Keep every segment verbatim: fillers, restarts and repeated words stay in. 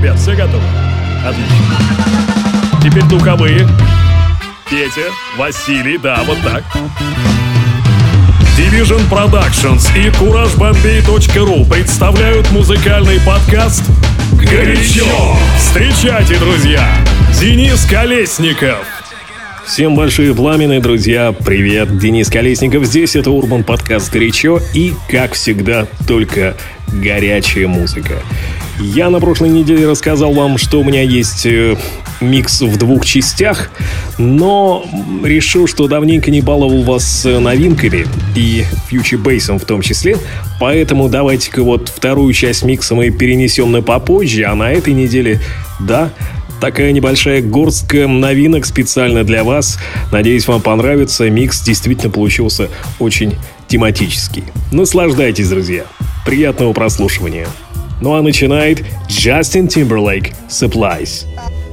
ребят, все готовы? Отлично. Теперь духовые. Петя, Василий, да, вот так. Division Productions и кураж бомбей точка ру представляют музыкальный подкаст «Горячо». Встречайте, друзья, Денис Колесников. Всем большие пламенные, друзья, привет, Денис Колесников здесь, это Урбан подкаст «Горячо» и, как всегда, только горячая музыка. Я на прошлой неделе рассказал вам, что у меня есть э, микс в двух частях, но решил, что давненько не баловал вас новинками и фьючербейсом в том числе, поэтому давайте-ка вот вторую часть микса мы перенесем на попозже, а на этой неделе, да, такая небольшая горстка новинок специально для вас. Надеюсь, вам понравится. Микс действительно получился очень тематический. Наслаждайтесь, друзья. Приятного прослушивания. Ну а начинает Justin Timberlake Supplies.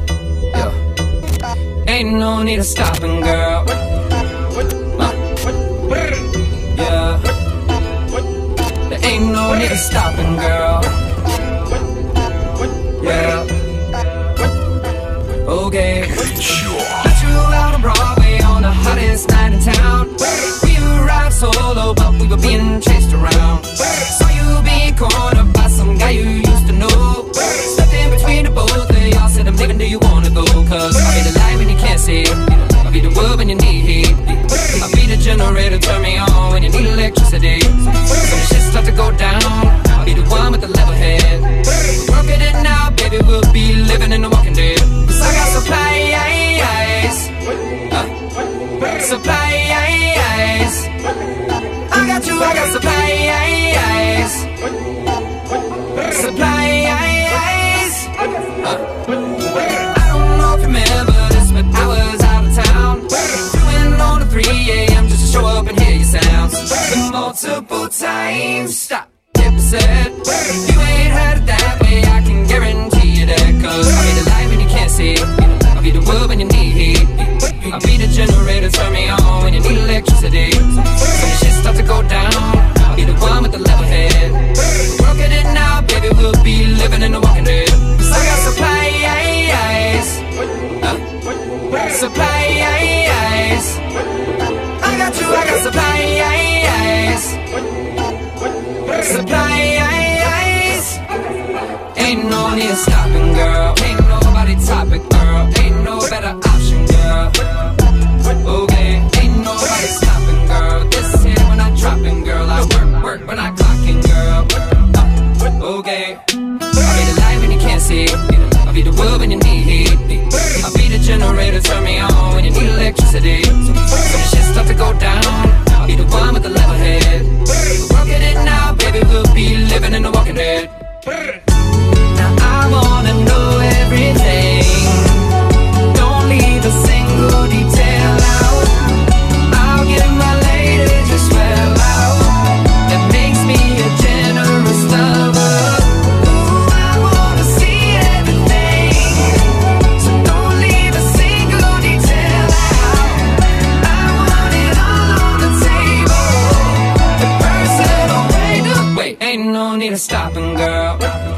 Ain't no need of stopping, girl. Uh, yeah. There ain't no need of stopping, girl. Yeah. Okay. Met you out on Broadway on the hottest night in town. We arrived solo, but we were being chased around. Saw you being cornered by some guy you used to know. Stepped in between the both of y'all, said I'm leaving, do you wanna go? Cause I'll be the light when you can't see. I'll be the wood when you need heat. I'll be the generator, turn me on when you need electricity. So the shit start to go down, I'll be the one with the level head. We're working it now, baby, we'll be living in the walking dead. Cause I got supplies, uh, supplies. I got you, I got supplies, supplies. Uh. I don't know if you remember this, but I was out of town, doing on the three a.m. just to show up and hear your sounds. Multiple times, stop, hit said, you ain't heard it that way, I can guarantee you that. Cause I'll be the light when you can't see, I'll be the wood when you need heat. I'll be the generator, turn me on when you need electricity. So when the shit start to go down, I'll be the one with the level head. We're working it now, baby, we'll be living in the walking dead. Cause I got supplies, uh, supplies. I got you, I got supplies, supplies. Ain't no need of stopping, girl. Ain't nobody topic, girl. Ain't no better option, girl. Okay, ain't nobody stopping, girl. This here when I dropping, girl. I work, work when I clocking, girl. Uh, okay, I'll be the light when you can't see. I'll be the wood when you need heat. I'll be the generator, turn me on when you need electricity. So when the shit start to go down, I'll be the one with the level head. We're working it now, baby, we'll be living in the walking dead. Now I wanna know everything. Don't leave a single detail out. I'll give my lady just swell out. That makes me a generous lover. Ooh, I wanna see everything. So don't leave a single detail out. I want it all on the table. The personal way to wait. Ain't no need of stopping, girl.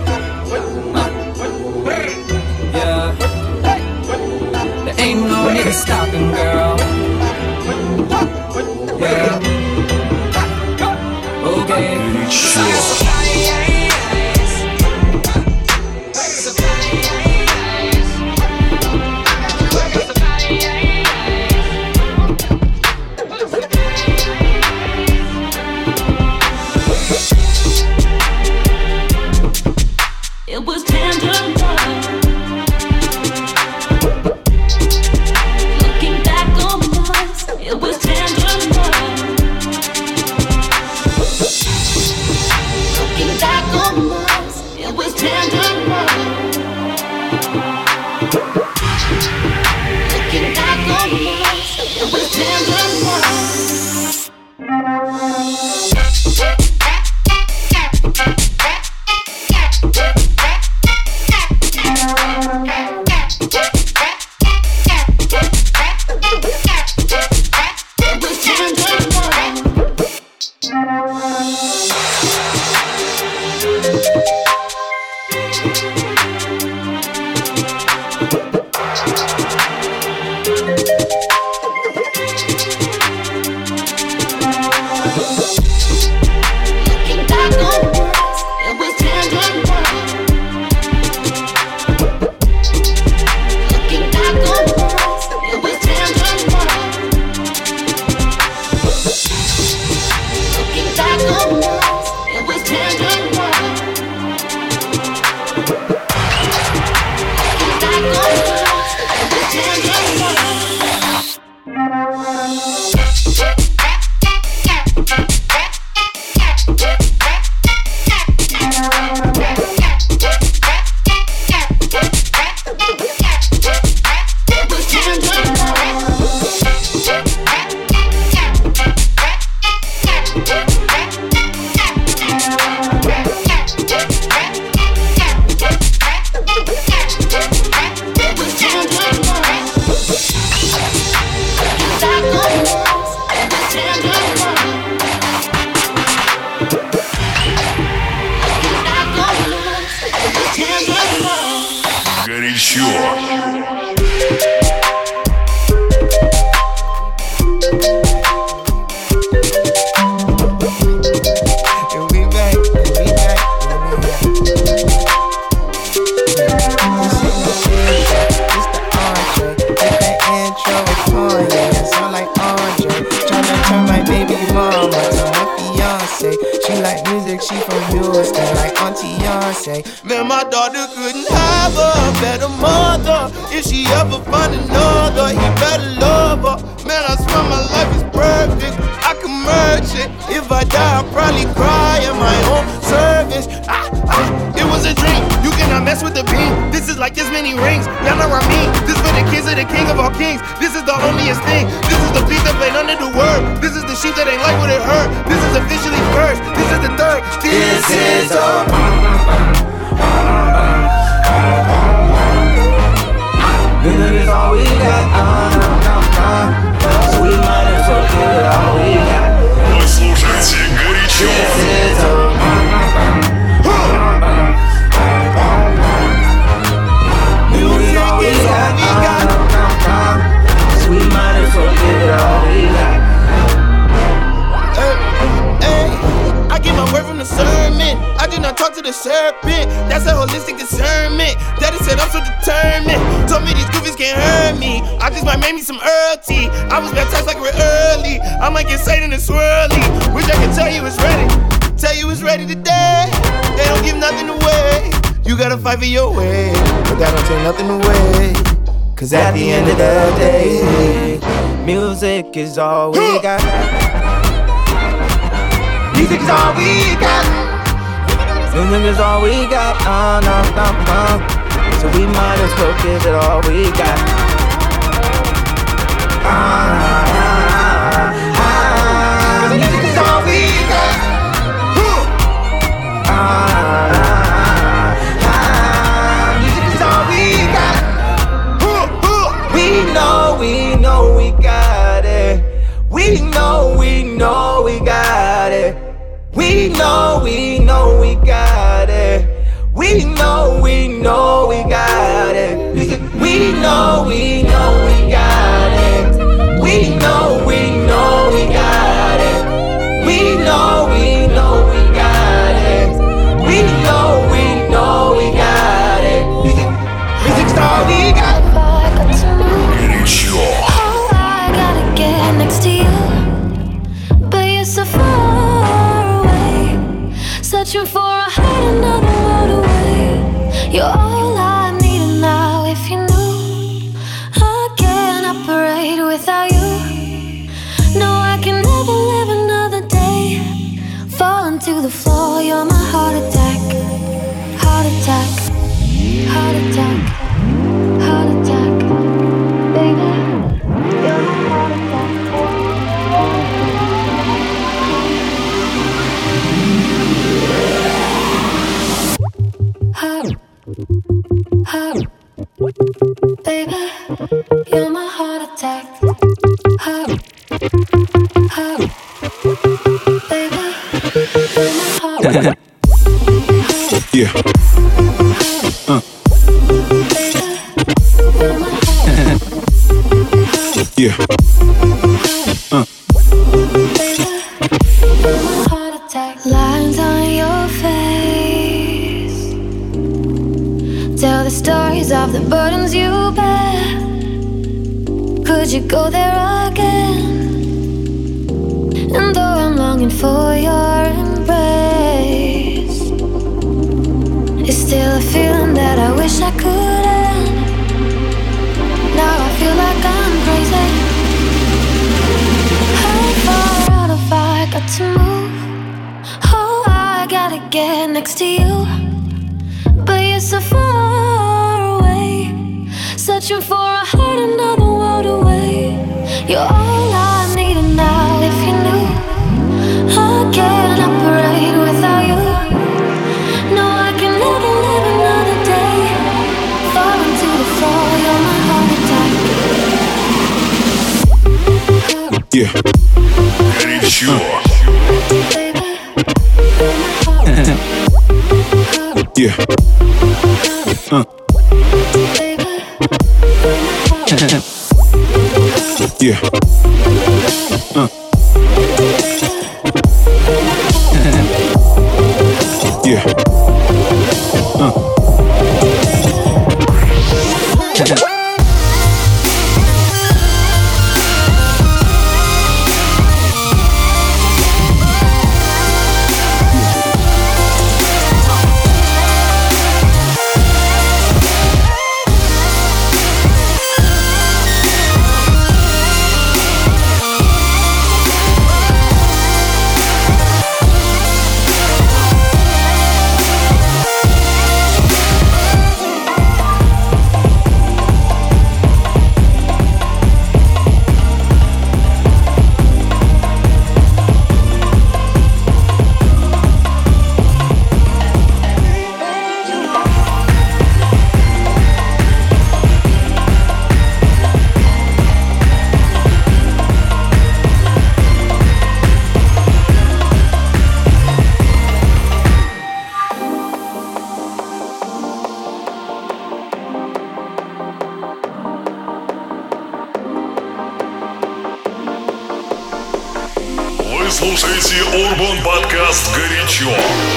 Ain't no need of stopping, girl. Yeah. Okay. It was tender love. Looking back on us, it was tender love. Looking back on us, it was tender love. Looking back on us, it was tender love. Горячо. She from Houston, like Auntie Beyonce. Man, my daughter couldn't have a better mother. If she ever find another, he better love her. Man, I swear my life is perfect. I can merge it. If I die, I'll probably cry at my own service. Ah, ah, it was a dream. You cannot mess with the beam. This is like this many rings. Y'all know what I mean? This for the kids of the king of all kings. This is the loneliest thing. This is the beat that played under the word. This is the sheep that ain't like what it hurt. This is officially first. This is the third. This is a This is all we got. uh, uh, uh. So we might as well give it all we got. Вы слушаете горячо. This is a Music is all we got. So we might as well give it all we got. Hey, hey, I get my word from the sermon. I do not talk to the serpent. That's a holistic discernment. Daddy said I'm so determined. Told me these goofies can't hurt me. I just might make me some Earl tea. I was baptized like real early. I might get Satan and swirly. Wish I could tell you it's ready. Tell you it's ready today. They don't give nothing away. You gotta fight for your way, but that don't take nothing away. Cause at the end of the day, music is all we got. Music is all we got. Music is all we got. Uh, no, no, no. So we might as well give it all we got. Ah, ah, ah, ah. Music is all we got. Ah, ah, ah. Music is all we got. We know, we know we got it. We know, we know we got it. We know, we know we got it. We know, we know we got it. We know, we know we got it. We know, we know we got it. We know, we know we got it. We know, we know we got it. Music, music's all we got. Горячо. Oh, I gotta get next to you, but you're so far away. Searching for a heart another world away. You're all I need now. If you knew I can't operate without you. No, I can never live another day. Falling to the floor, you're my heart attack. Heart attack. Heart attack. Heart attack. Baby, you're my heart attack. Heart, heart, baby, you're my heart attack. Heart, heart, baby, you're my heart attack. Yeah. Uh. Baby, you're my heart attack. Yeah. Uh. Baby, you're my heart attack. Lines on your face tell the stories of the burdens you bear. Could you go there again? And though I'm longing for your embrace, it's still a feeling that I wish I could end. Now I feel like I'm crazy. How far out have I got to move? Oh, I gotta get next to you, but you're so far away. Searching for a heart another world away. You're all I need now. If you knew I can't operate without you. No, I can never live another day. Falling to the floor, you're my heart attack. Yeah. Горячо. Baby, you're my heart attack. Yeah. Uh. Yeah. Uh. Yeah. Uh. Вы слушаете Urban Podcast «Горячо».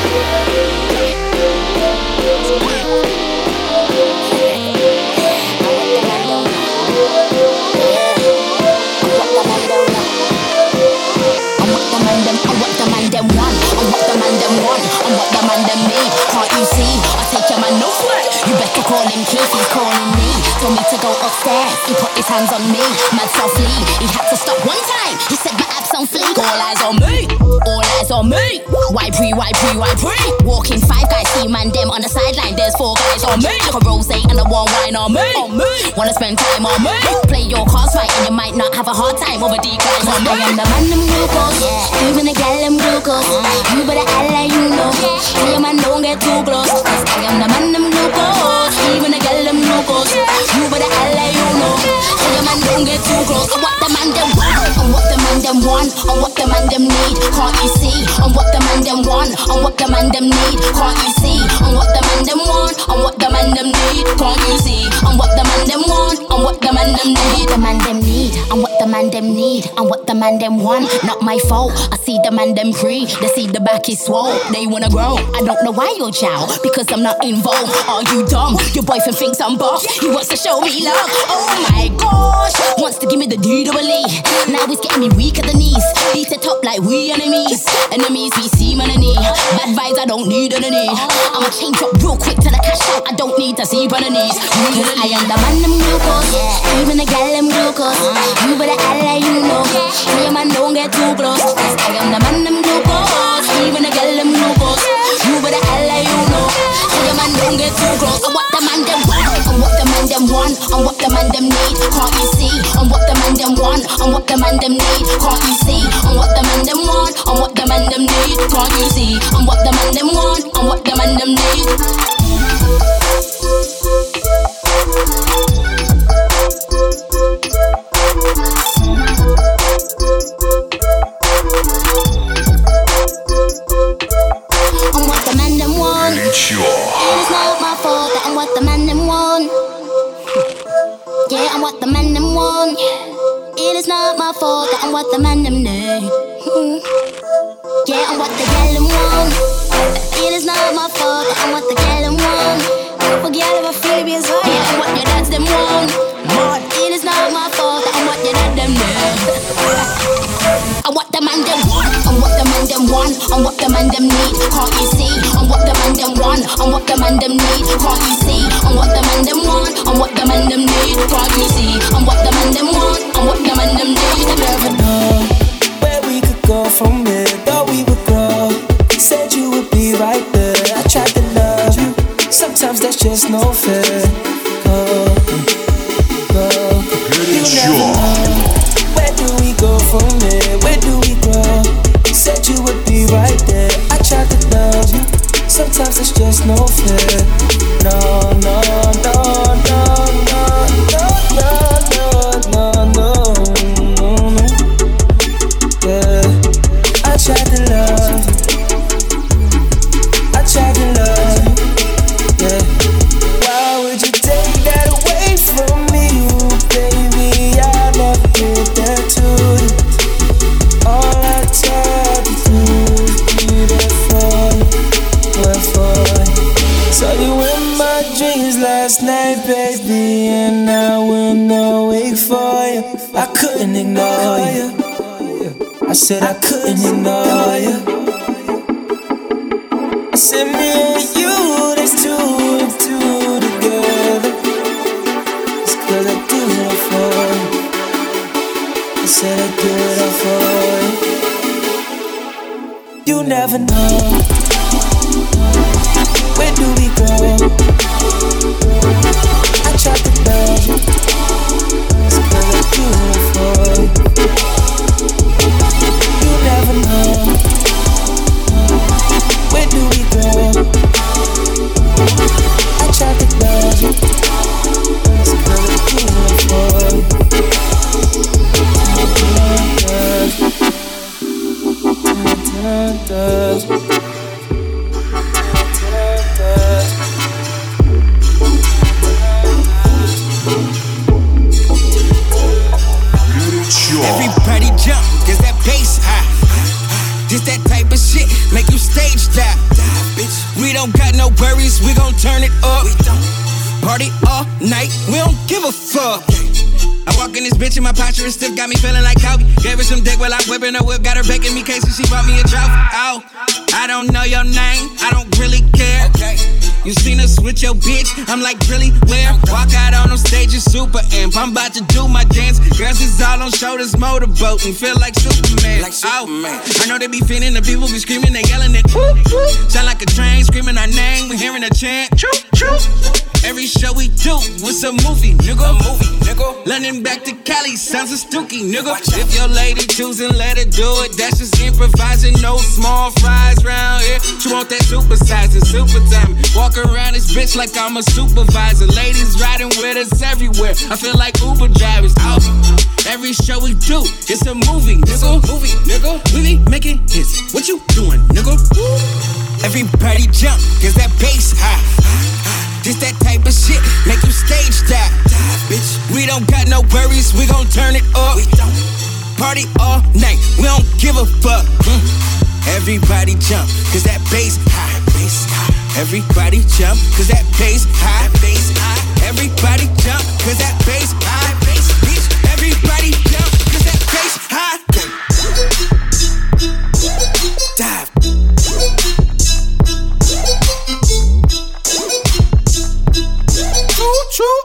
Told me to go upstairs, he put his hands on me, mad softly. He had to stop one time, he said my abs on fleek. All eyes on me, all eyes on me. Why pre, why pre, why pre? Walking five guys, see man them on the sideline. There's four guys on me, like a rose and a one wine on me. On me, wanna spend time on me? Play your cards right and you might not have a hard time over declines on me. I am the man them glucose, yeah. Even the gal them glucose. You better act like you know, so your man don't get too close. I am the man them glucose, even the gal them glucose. You better act like you know, so your man don't get too close. And what the man them want, and what the man them want, and what the man them need. Can't you see? And what the man them want, and what the man them need. Can't you see? And what the man them want, and what the man them need. Can't you see? And what the man them want, and what the man them need. The man them need, and what the man them need, and what the man them want. Not my fault. I see the man them free. They see the back is swole. They wanna grow. I don't know why you're chow, because I'm not involved. Are you dumb? Your boyfriend thinks I'm buff. He wants to show me love. Oh my gosh, wants to give me the D double E. Now he's getting me weak at the knees. Beat it up like we enemies. Enemies we see man and knee. Bad vibes I don't need on the knee. I'ma change up real quick to the cash out. I don't need to see on the knees. I am the man them glucose, even the gal them glucose. You better act like you know, so your man don't get too close. I am the man them glucose, even the gal them glucose. You better act like you know, so your man don't get too close. And what the man them want, and what the man them want, and what the man them need. Can't you see? And what the man them want, and what the man them need. Can't you see? And what the man them want, and what the man them need. Can't you see? And what the man them want, and what the man them need. And what the man them want. Горячо. It's not my fault that I'm what the man them want. Yeah, I'm what the man them want. It is not my fault that I'm what the man them need. Yeah, I'm what the gal them want. It is not my fault that I'm what the gal them want. Forget about Phoebe's right. Yeah, I'm what your dads them want. But it is not my fault that I'm what your dad them need. And what the man them want, and what the man them want, and what the man them need. Can't you see? And what the man them want, and what the man them need. Can't you see? And what the man them want, and what the man them need. Can't you see? And what the man them want, and what the man them need. I never know where we could go from here. Thought we would grow. Said you would be right there. I tried to love you. Sometimes that's just no fair. Go, go. You never know. Where do we go from here? Where do we grow? Said you would be right there. I tried to love you. Sometimes it's just no fair. No, no, no, no, no, no, no, no, no, no, no. Yeah, I tried to love you. I tried to love you. Yeah. Why would you take that away from me, baby? last night, baby, and I went awake for you. I couldn't ignore you. I said I couldn't ignore you. I said me and you, there's two and two together. It's cause I do it all for you. I said I do it all for you. You never know. Where do we go? I tried to love you. It's cause I do it for you. You never know. Where do we go? I tried to love you. It's cause I do it for you. Does, does, does. Everybody jump, cause that bass high. Just that type of shit, make you stage dive. We don't got no worries, we gon' turn it up. Party all night, we don't give a fuck. I walk in this bitch and my posture is stiff, got me feeling like Kobe. Gave her some dick while I'm whipping her whip, got her begging me case and she bought me a trophy. Oh, I don't know your name, I don't really care. Okay. You seen us with your bitch, I'm like, really, where? Walk out on them stages, super amp, I'm about to do my dance. Girls is all on shoulders, motorboating, feel like Superman. Like Superman. Oh, I know they be feeling, the people be screaming, they yelling it. Woo, woo. Sound like a train, screaming our name, we hearing a chant. True, true. Every show we do, what's a movie, nigga? A movie, nigga. London back to Cali, sounds a stooky, nigga. If your lady choosing, let her do it. That's just improvising, no small fries round here. She want that supersizing, super time. Walk around this bitch like I'm a supervisor. Ladies riding with us everywhere. I feel like Uber drivers. Out. Every show we do, it's a movie, nigga. Movie, nigga. We be making hits. What you doing, nigga? Everybody jump, cause that bass high. Just that type of shit, make you stage dive. Bitch, we don't got no worries, we gon' turn it up. We don't party all night, we don't give a fuck. Mm. Everybody jump, cause that bass high, bass high. Everybody jump, cause that bass high, bass high. Everybody jump, cause that bass high, bass. Bitch, everybody jump, cause that bass high. Dive. True, true.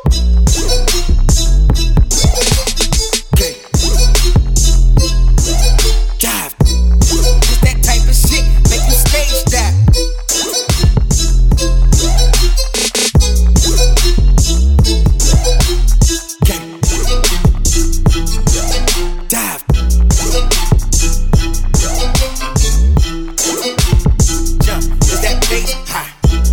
Okay. Dive. Just that type of shit, make you stage dive. Okay. Dive. Jump, just that bass high.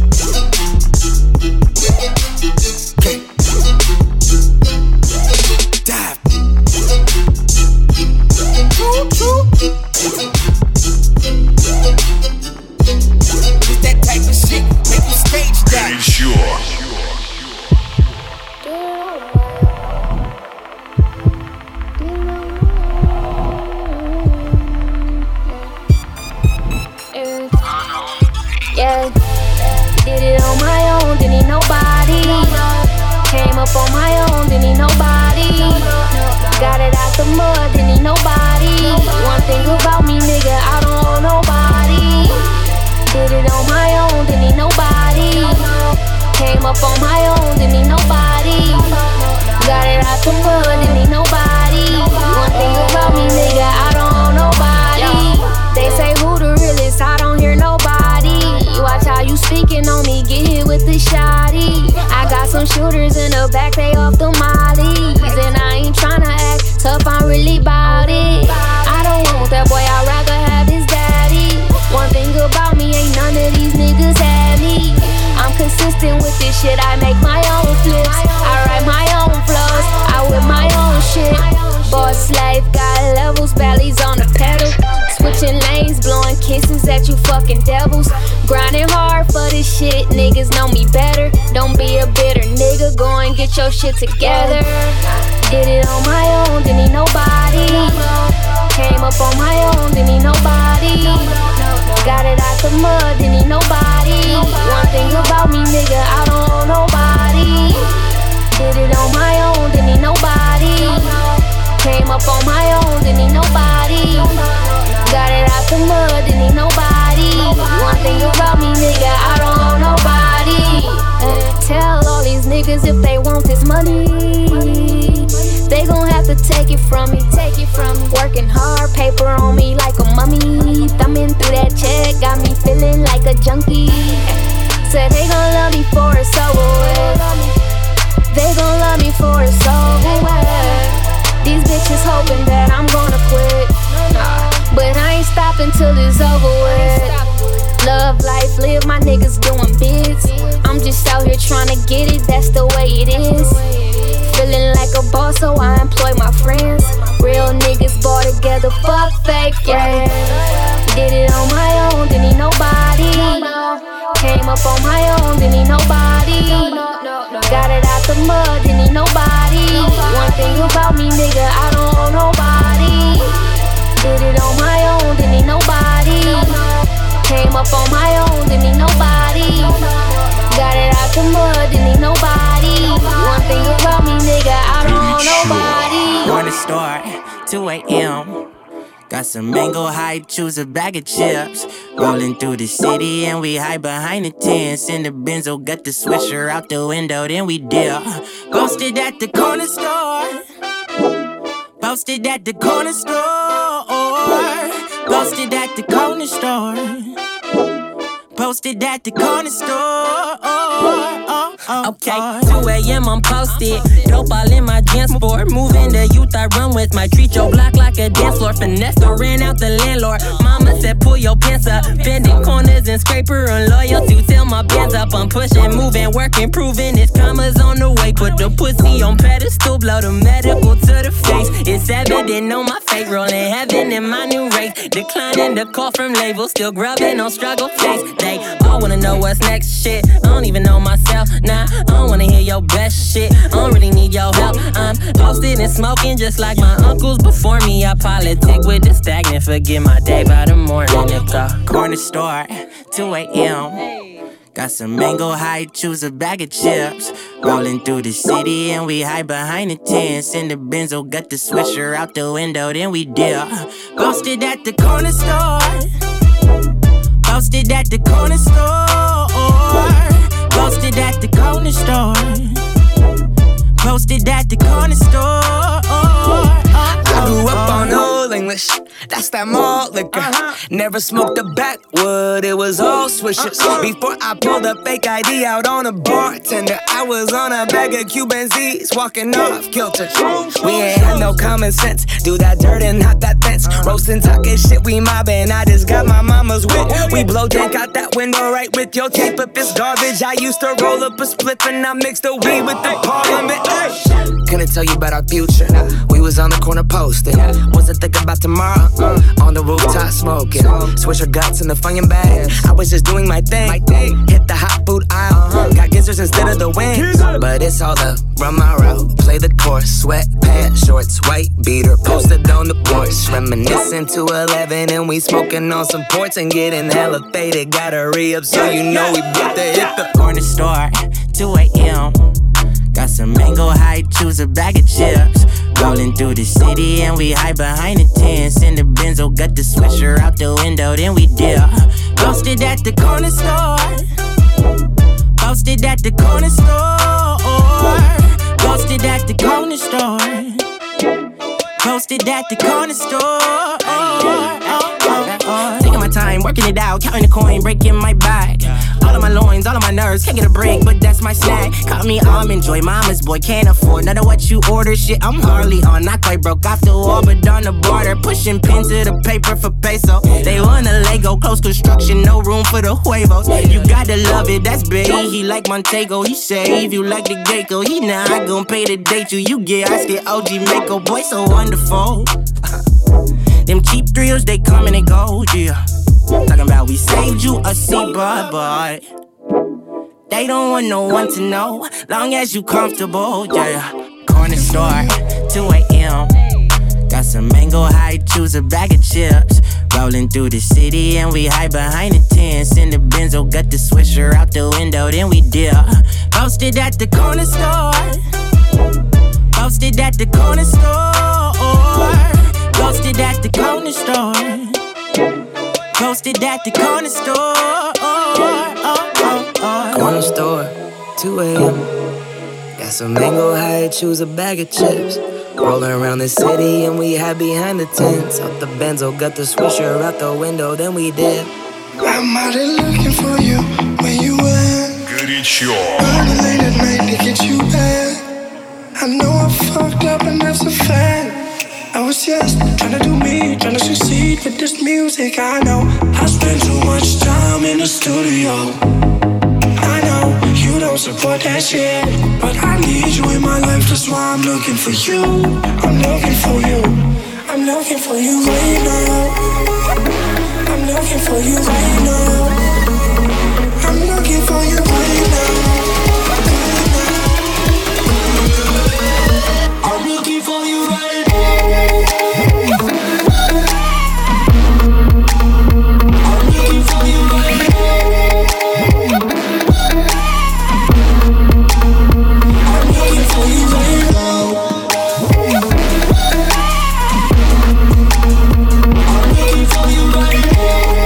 Yeah, did it on my own, didn't need nobody. Came up on my own, didn't need nobody. Got it out the mud, didn't need nobody. One thing about me, nigga, I don't owe nobody. Did it on my own, didn't need nobody. Came up on my own, didn't need nobody. Got it out the mud, didn't need nobody. One thing about me, nigga, I don't owe nobody. They say who the realest, I don't hear nobody. Watch how you speaking on me, get hit with the shotty. I got some shooters in the back, they off the mollies. And I ain't tryna act tough, I'm really bout it. I don't want that boy, I'd rather have his daddy. One thing about me, ain't none of these niggas had me. I'm consistent with this shit, I make my own flips. I write my own flows, I whip my own shit. Boss life, got levels, bellies on the pedal. Switching lanes, blowing kisses at you fucking devils. Grinding hard for this shit, niggas know me better. Don't be a bitter nigga, go and get your shit together. Did it on my own, didn't need nobody. Came up on my own, didn't need nobody. Got it out the mud, didn't need nobody. One thing about me, nigga, I don't owe nobody. niggas if they want this money. They gon' have to take it from me, take it from me. Working hard, paper on me like a mummy. Thumbing through that check, got me feeling like a junkie. Said they gon' love me for it's over with. They gon' love me for it's over with. These bitches hoping that I'm gonna quit. Nah, but I ain't stopping till it's over with. Love life, live, my niggas doing bids. I'm just out here trying to get it, that's the way it is. Feeling like a boss, so I employ my friends. Real niggas ball together, fuck fake, yeah. Did it on my own, didn't need nobody. Came up on my own, didn't need nobody. Got it out the mud, didn't need nobody. One thing about me, nigga, I don't owe nobody. Did it on my own, didn't need nobody. Came up on my own, didn't need nobody. Got it out the mud, didn't need nobody. One thing about me, nigga, I don't owe nobody. Going to store, two a.m. Got some mango hype, choose a bag of chips. Rolling through the city and we hide behind the tents. In the Benzo, got the swisher out the window, then we dip. Posted at the corner store. Posted at the corner store. Posted at the corner store. Posted at the corner store. Okay, two a.m. I'm posted. Dope all in my dance sport. Moving the youth I run with. My treat your block like a dance floor. Finesse or ran out the landlord. Mama said pull your pants up. Bending corners and scraper and loyalty. Till my bands up. I'm pushing, moving, working, proving it's commas on the way. Put the pussy on pedestal. Blow the medical to the face. It's evident on my face. Rolling heaven in my new race. Declining the call from labels. Still grubbing on struggle face. They all wanna know what's next shit. I don't even know myself. Nah, I don't wanna hear your best shit. I don't really need your help. I'm posted and smoking just like my uncles before me. I politic with the stagnant. Forget my day by the morning. If the corner store, two a.m. Got some mango hype, choose a bag of chips. Rolling through the city and we hide behind the tents. In the Benzo, got the swisher out the window, then we dip. Posted at the corner store. Posted at the corner store. Posted at the corner store. Posted at the corner store. I grew up on Old English. That's that malt liquor. Uh-huh. Never smoked a backwood, it was all swishers. Uh-uh. Before I pulled a fake I D out on a bartender, I was on a bag of Cuban Z's, walking off kilter. We ain't had no common sense. Do that dirt and not that fence. Uh-huh. Roasting, talking shit, we mobbing. I just got my mama's whip. We blow dank out that window right with your tape. If it's garbage, I used to roll up a spliff and I mixed the weed with the parliament. Couldn't tell you about our future. We was on the corner posting. Wasn't thinking about tomorrow. Uh, on the rooftop smoking. Switch her guts in the Funyun bag. I was just doing my thing. Hit the hot food aisle. Got gizzards instead of the wings. But it's all up. Run my route. Play the course. Sweatpants, shorts, white beater. Posted on the porch. Reminiscing to eleven. And we smoking on some ports and getting hella faded. Gotta re-up so you know we bout to hit the corner store. two a.m. Got some mango hype, choose a bag of chips. Rolling through the city and we hide behind the tents. In the Benzo, got the swisher out the window, then we dip. Posted at the corner store. Posted at the corner store. Posted at the corner store. Posted at the corner store. Taking my time, working it out, counting the coin, breaking my back. All of my loins, all of my nerves, can't get a break, but that's my snack. Call me almond joy, mama's boy, can't afford none of what you order. Shit, I'm hardly on, not quite broke off the wall, but on the border, pushing pen to the paper for peso. They want a Lego, close construction, no room for the huevos. You gotta love it, that's big. He like Montego, he save you like the Geico. He not gon' pay to date you, you get ice, get O G Mako, boy, so wonderful. Them cheap thrills, they come and they go, yeah. Talking about we saved you a seat, but, but they don't want no one to know, long as you comfortable, yeah. Corner store, two a.m. Got some mango hype, choose a bag of chips. Rolling through the city and we hide behind the tents. In the Benzo, got the swisher out the window, then we dip. Posted at the corner store. Posted at the corner store. Posted at the corner store. Posted at the corner store. Corner store, two a.m. Got some mango high, choose a bag of chips. Rolling around the city and we hide behind the tents. Up the Benzo, got the swisher out the window, then we did. I'm out there looking for you, where you at? Горячо. Running late at night to get you back. I know I fucked up and that's a fact. I was just trying to do me, trying to succeed with this music. I know I spend too much time in the studio. I know you don't support that shit, but I need you in my life, that's why I'm looking for you. I'm looking for you. I'm looking for you right now. I'm looking for you right now. I'm looking for you right now. I'm looking for you right now. I'm looking for you right now. I'm looking for you right now. I'm looking for you right now.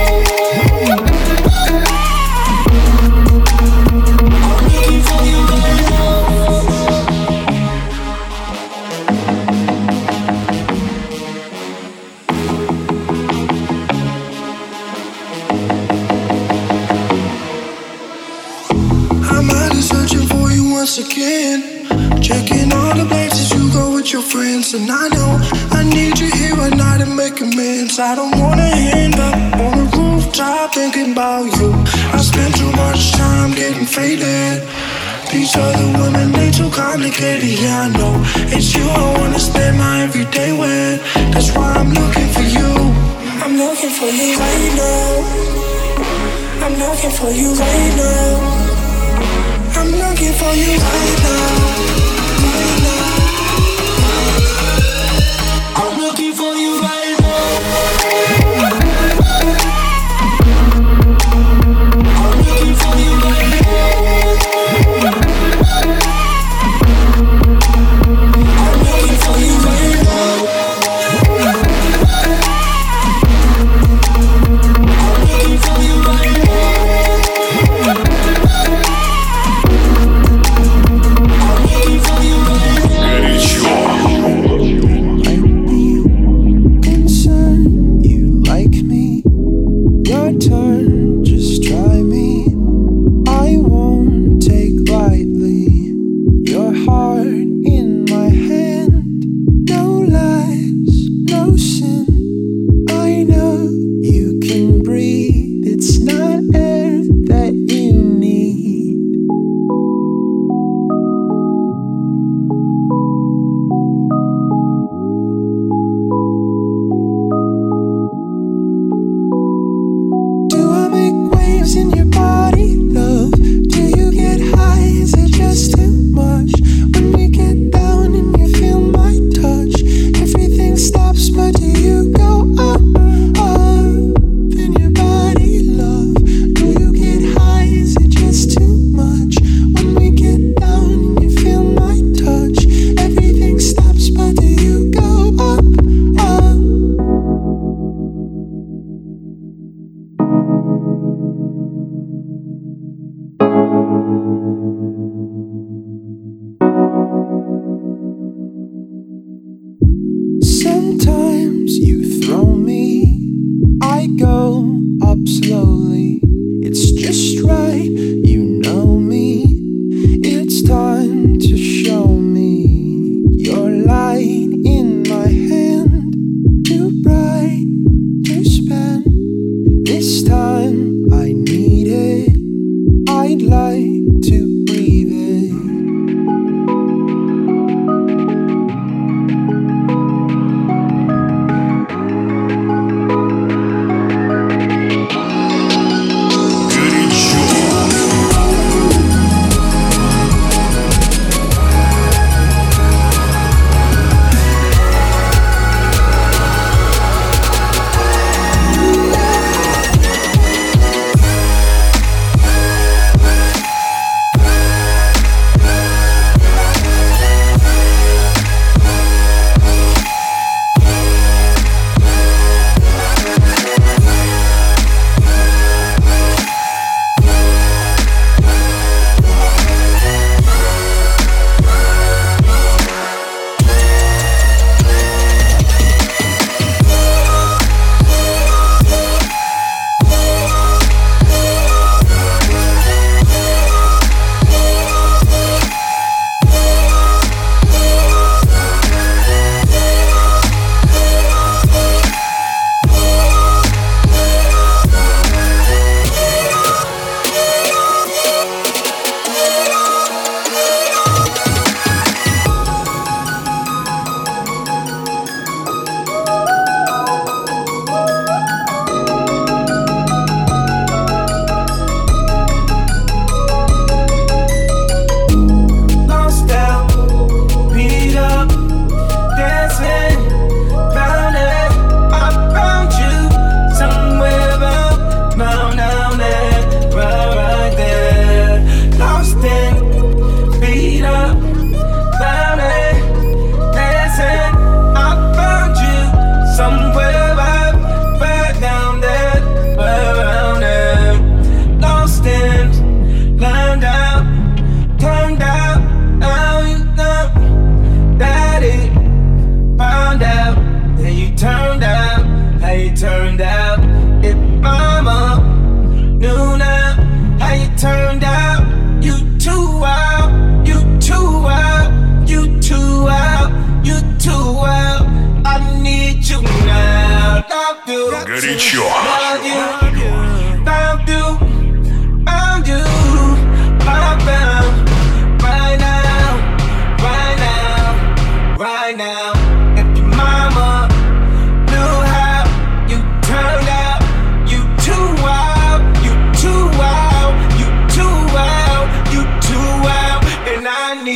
Once again, checking all the places you go with your friends. And I know I need you here right now to make amends. I don't wanna end up on the rooftop thinking about you. I spend too much time getting faded. These other women, they too complicated. Yeah, I know it's you I wanna spend my everyday with. That's why I'm looking for you. I'm looking for you right now. I'm looking for you right now. I'm looking for you right now, right now. I'm looking for you right now. I'm looking for you right now. I'm looking for you right now. I'm looking for you right now.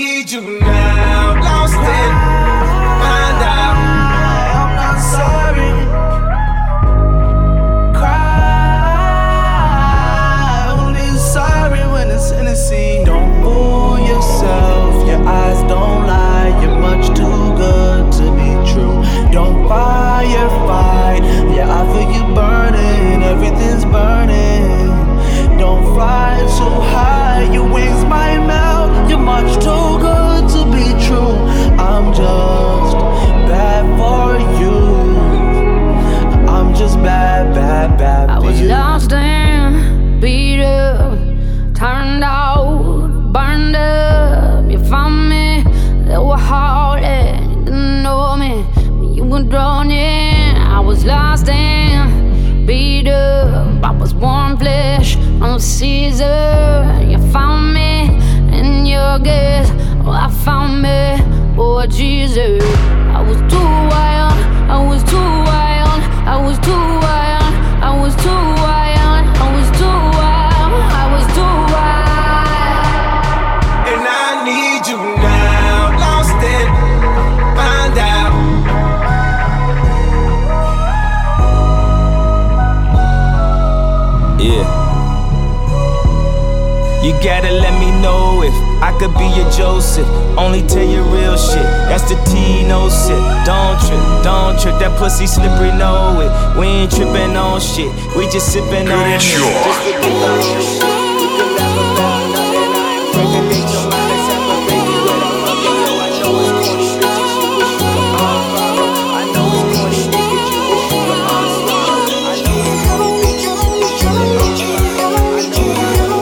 need you now. Lost it, find out. I'm not sorry. Cry, only sorry when it's Hennessy. Don't fool yourself, your eyes don't lie. You're much too good to be true. Don't firefight, yeah, I feel you burning. Everything's burning. Don't fly too high, your wings might melt. You're much too good to be true. I'm just bad for you. I'm just bad, bad, bad for you. I was lost and beat up, turned out, burned up. You found me, they were hard and you didn't know me. When you were drawn in, I was lost and beat up. I was warm flesh on Caesar. You found me in your guess. Oh, I found me, oh Jesus. I was too wild, I was too wild, I was too wild, I was too wild, I was too wild, I was too wild. And I need you now. Lost it, find out. Yeah. You gotta let me know if I could be your Joseph. Only tell you real shit. That's the T, no sip. Don't trip, don't trip. That pussy slippery, know it. We ain't tripping on shit. We just sipping on it. Just forget the whole shit. We could laugh about nothing. I ain't pregnant your mind and separate you with a fucking know. I know it's corny, bitches. You wish you could unfollow. I know it's corny, niggas. You wish you could unswallow. I know it's corny, bitches. You wish you could unfollow. I know it's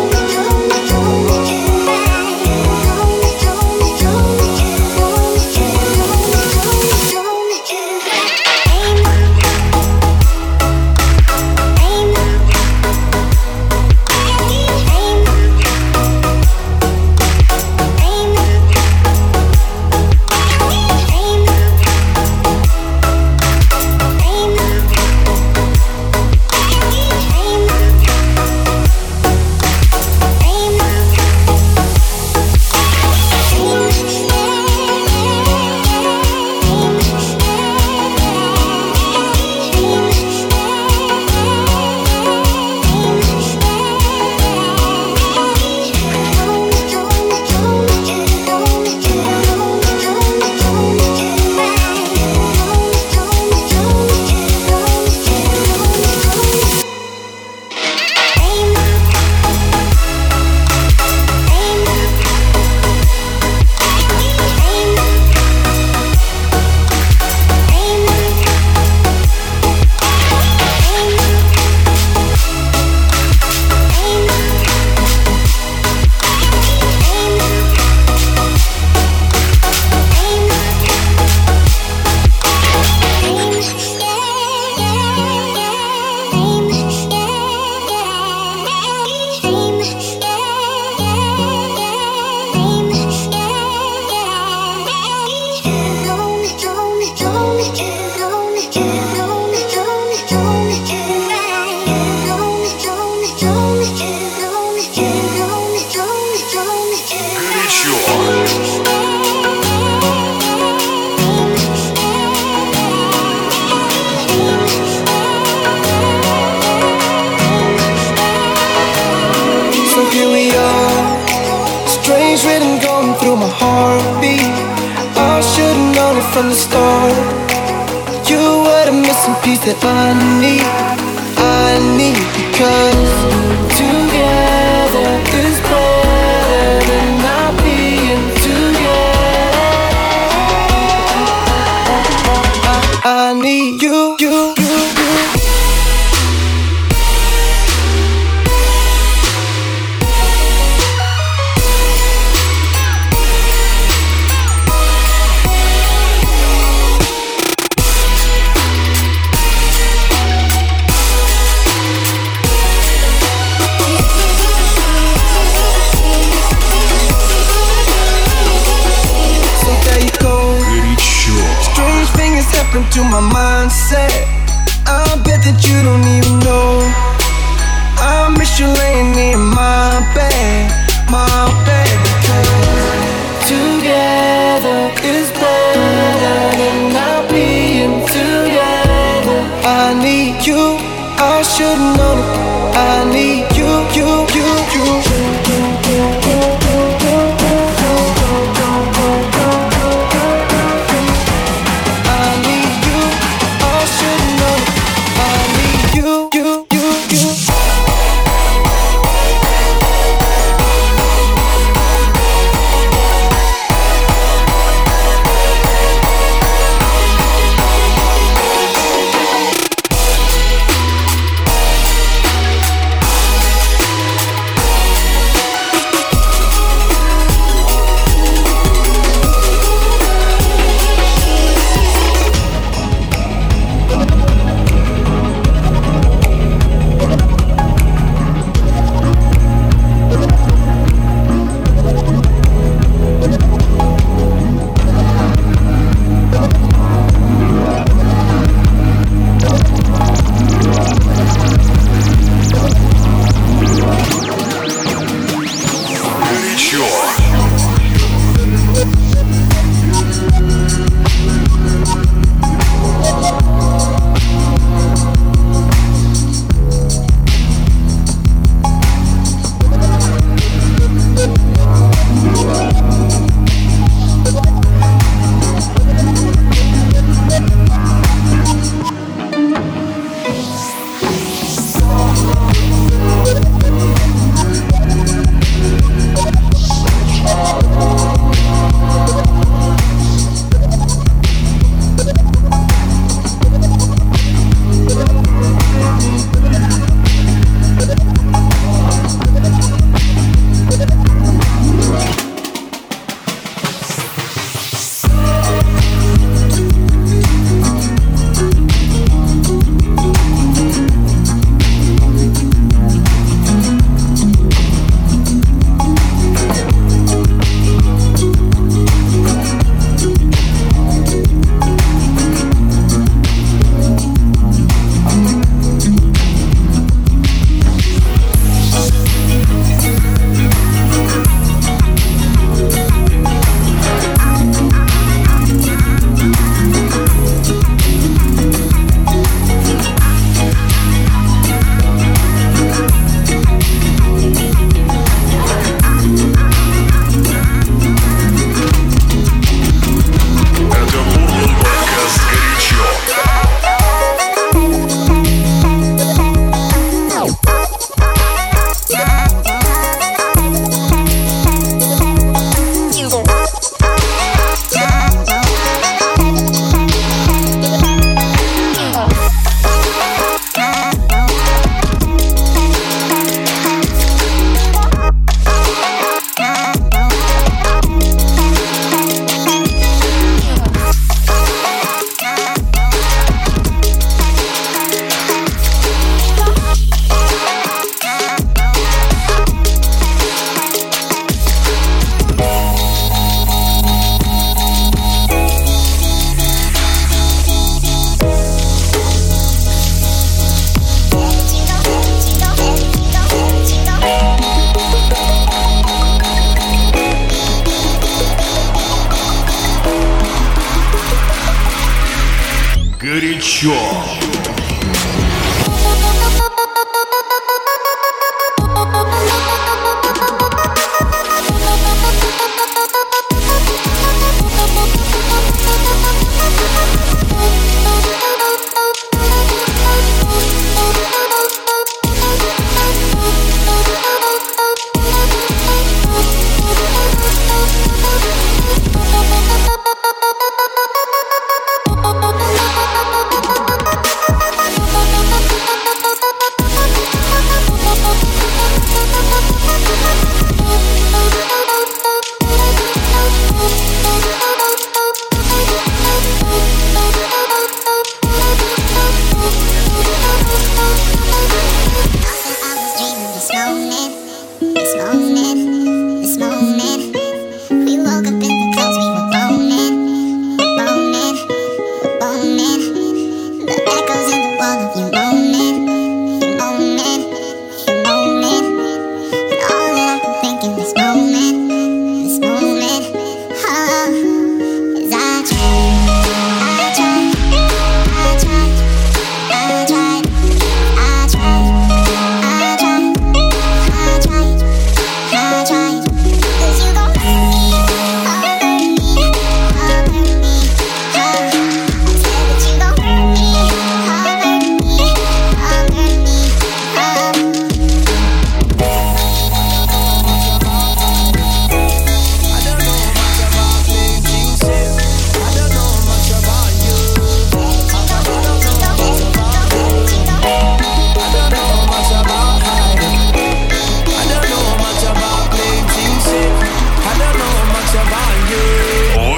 from the start. You were the missing piece that I need, I need, because together is better than not being together. I, I need you, you, you, you. To my mindset, I bet that you don't even know. I miss you laying in my bed, my bed, because together together is better than not being together. I need you, I should know it. I need you, you, you, you. I need you, I should know it. I need you, you, you, you. Горячо.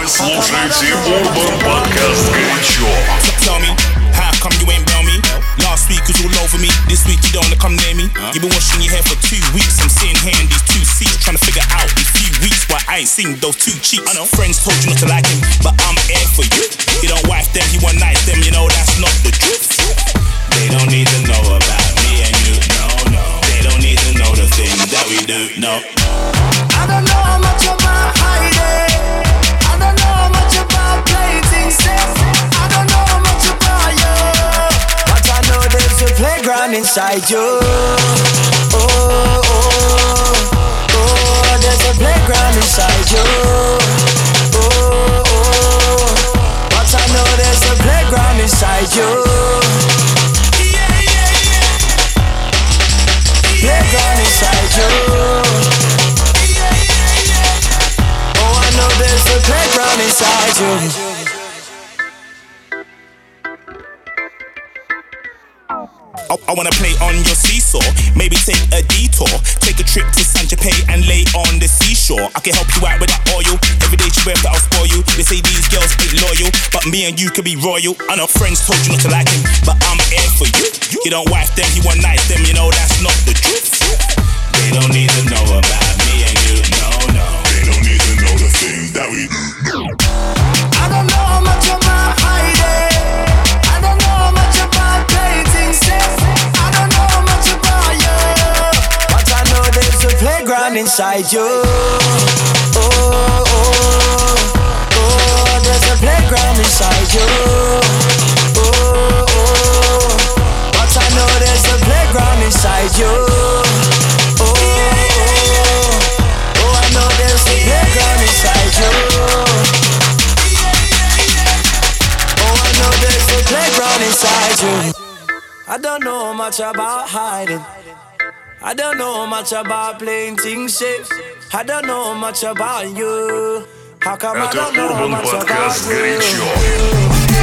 слушаете Urban Podcast горячо. Tell me, how come you ain't bail me? Last week was all over me, this week you don't wanna come near me. You've been washing your hair for two weeks, I'm sitting here in these two seats trying to figure out in a few weeks why I ain't seen those two cheeks. I know friends told you not to like him, but I'm here for you. You don't wife them, you one night them, you know that's not the truth. They don't need to know about me and you, no, no. They don't need to know the things that we do, no. I don't know how much about hiding. I don't know how much about playing things safe. I don't know how much about you, but I know there's a playground inside you. Oh, oh, oh, there's a playground inside you. Oh, oh, but I know there's a playground inside you. Yeah, yeah, yeah. Playground inside you. There's a playground inside you. I, I wanna play on your seesaw, maybe take a detour, take a trip to Saint Tropez and lay on the seashore. I can help you out with that oil, every day you wear that I'll spoil you. They say these girls ain't loyal, but me and you could be royal. I know friends told you not to like him, but I'm here for you. You don't wife them, you one night them, you know that's not the truth. They don't need to know about me and you, no, no. They don't need to know the things that we do. I don't know how much about hiding. I don't know how much about playing things safe. I don't know how much about you, but I know there's a playground inside you. Oh, oh, oh, there's a playground inside you. Oh, oh, but I know there's a playground inside you. Oh, oh, oh, I know there's a playground inside you. Oh, I know there's a playground inside you. I don't know much about hiding. I don't know much about playing things safe. I don't know much about you. How come I don't know Urban much about Podcast you? горячо.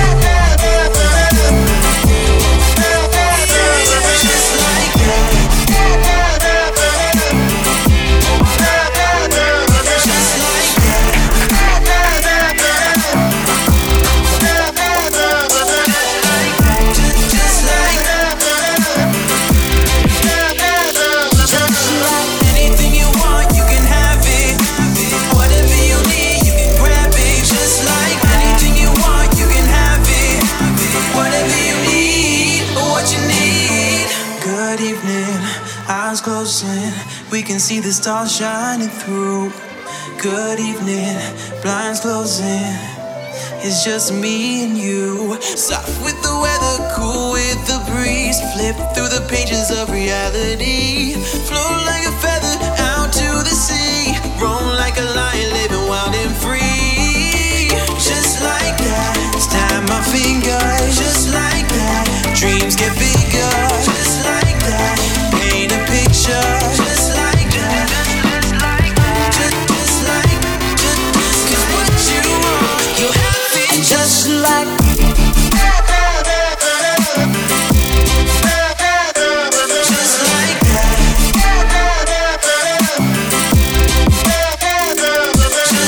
Closing, we can see the stars shining through. Good evening, blinds closing. It's just me and you. Soft with the weather, cool with the breeze. Flip through the pages of reality. Float like a feather out to the sea. Roam like a lion, living wild and free. Just like that, snap my fingers. Just like that, dreams get bigger. Just like that, paint a picture. Just like that, just like that, just, just like, just, just 'cause what you want, you have it. Just like just like that.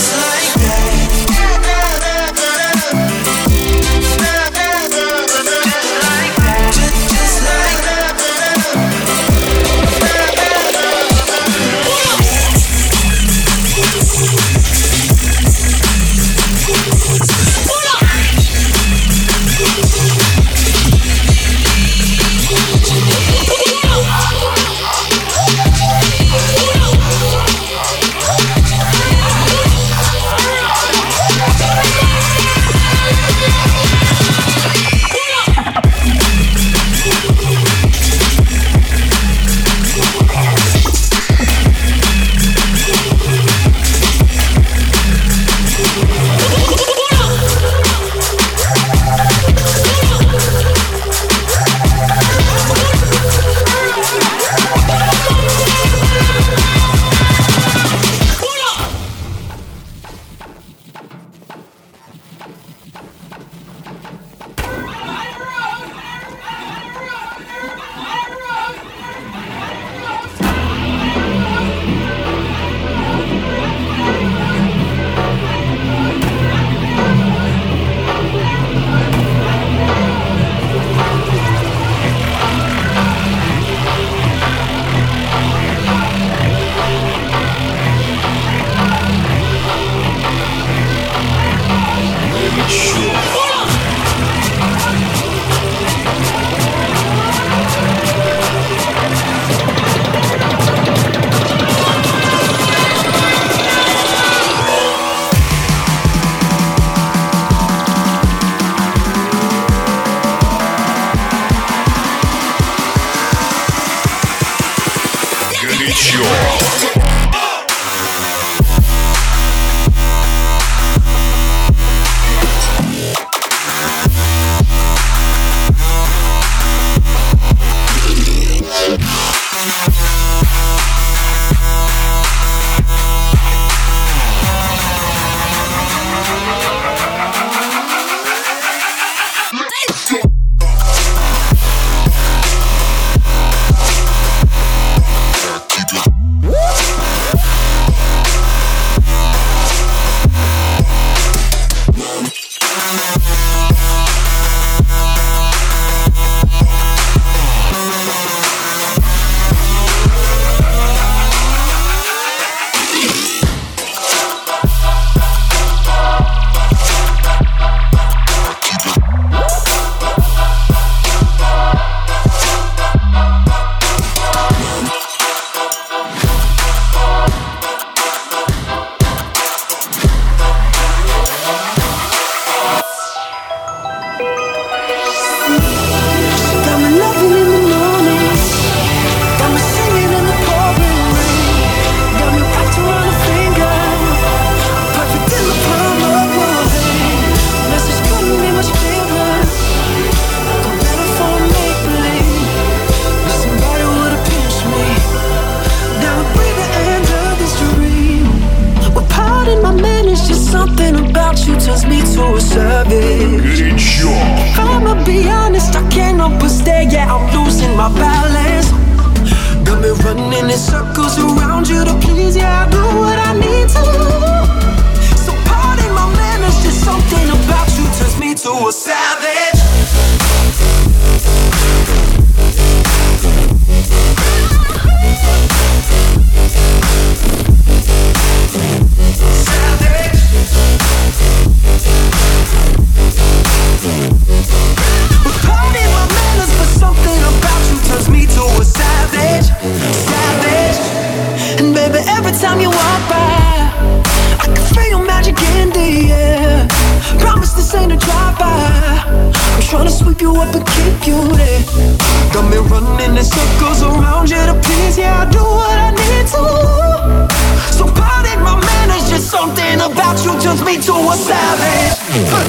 Got me loving in the morning, got me singing in the pouring rain, got me wrapped around a finger, perfect in the palm of your hand. Message couldn't be much clearer, go better for make-believe. Wish somebody would've pinched me, now I breathe the end of this dream. Well, pardon my man, it's just something about you turns me to a savage. Горячо. If I'ma be honest, I can't help but stare, yeah, I'm losing my balance. Got me running in circles around you to please, yeah, I do what I need to. So pardon my manners, just something about you turns me to a savage. Pardon my manners, but something about you turns me to a savage, savage. And baby, every time you walk by, I can feel your magic in the air. Promise this ain't a drive-by, I'm tryna sweep you up and keep you there. Got me running in circles around you to please, yeah, I do what I need to. So pardon my manners, just something about you turns me to a savage.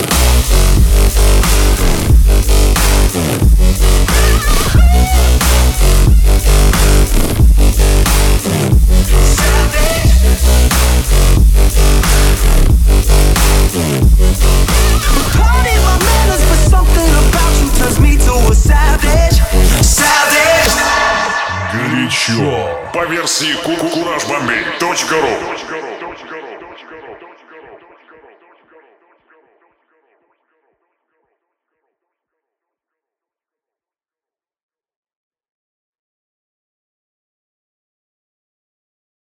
Pardon my manners, but something about you turns me to a savage, savage. Горячо. По версии кураж бомбей точка ру.